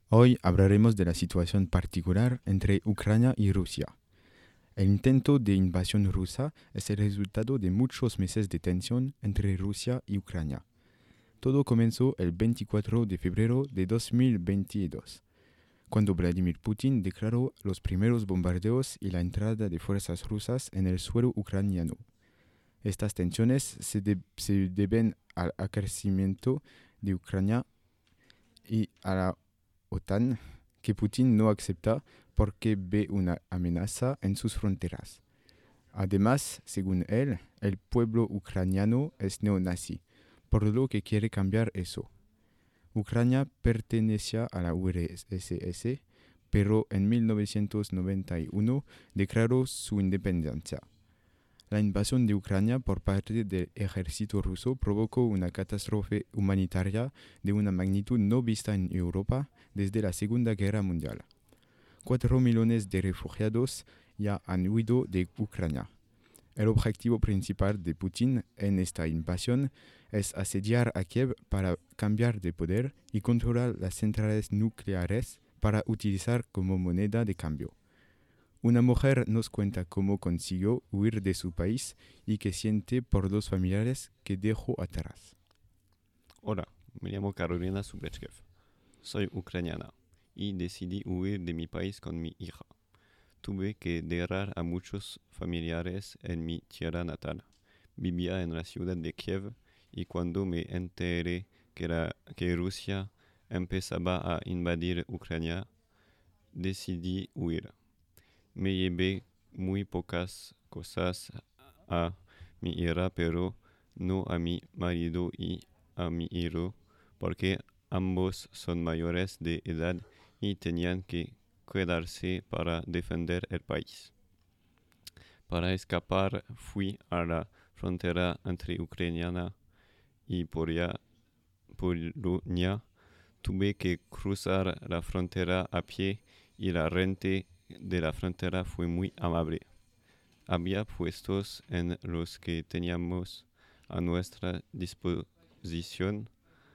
Hoy hablaremos de la situación particular entre Ucrania y Rusia. El intento de invasión rusa es el resultado de muchos meses de tensión entre Rusia y Ucrania. Todo comenzó el 24 de febrero de 2022, cuando Vladimir Putin declaró los primeros bombardeos y la entrada de fuerzas rusas en el suelo ucraniano. Estas tensiones se deben al crecimiento de Ucrania y a la OTAN que Putin no acepta porque ve una amenaza en sus fronteras. Además, según él, el pueblo ucraniano es neonazi, por lo que quiere cambiar eso. Ucrania pertenecía a la URSS, pero en 1991 declaró su independencia. La invasión de Ucrania por parte del ejército ruso provocó una catástrofe humanitaria de una magnitud no vista en Europa desde la Segunda Guerra Mundial. 4 millones de refugiados ya han huido de Ucrania. El objetivo principal de Putin en esta invasión es asediar a Kiev para cambiar de poder y controlar las centrales nucleares para utilizar como moneda de cambio. Una mujer nos cuenta cómo consiguió huir de su país y qué siente por los familiares que dejó atrás. Hola, me llamo Carolina Sublechkev. Soy ucraniana y decidí huir de mi país con mi hija. Tuve que dejar a muchos familiares en mi tierra natal. Vivía en la ciudad de Kiev y cuando me enteré que Rusia empezaba a invadir Ucrania, decidí huir. Me llevé muy pocas cosas a mi hija, pero no a mi marido y a mi hijo, porque ambos son mayores de edad y tenían que quedarse para defender el país. Para escapar fui a la frontera entre Ucrania y Polonia. Tuve que cruzar la frontera a pie y la gente de la frontera fue muy amable. Había puestos en los que teníamos a nuestra disposición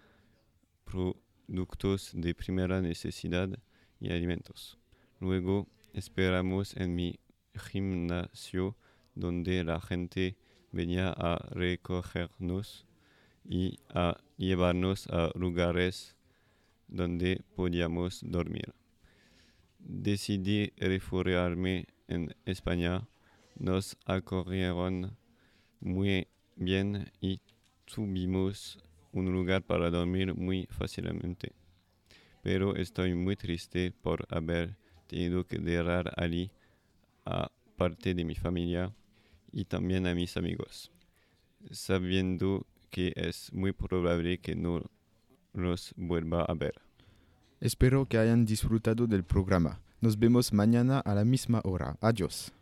productos de primera necesidad y alimentos. Luego esperamos en mi gimnasio donde la gente venía a recogernos y a llevarnos a lugares donde podíamos dormir. Decidí refugiarme en España. Nos acogieron muy bien y tuvimos un lugar para dormir muy fácilmente. Pero estoy muy triste por haber tenido que dejar allí a parte de mi familia y también a mis amigos, sabiendo que es muy probable que no los vuelva a ver. Espero que hayan disfrutado del programa. Nos vemos mañana a la misma hora. Adiós.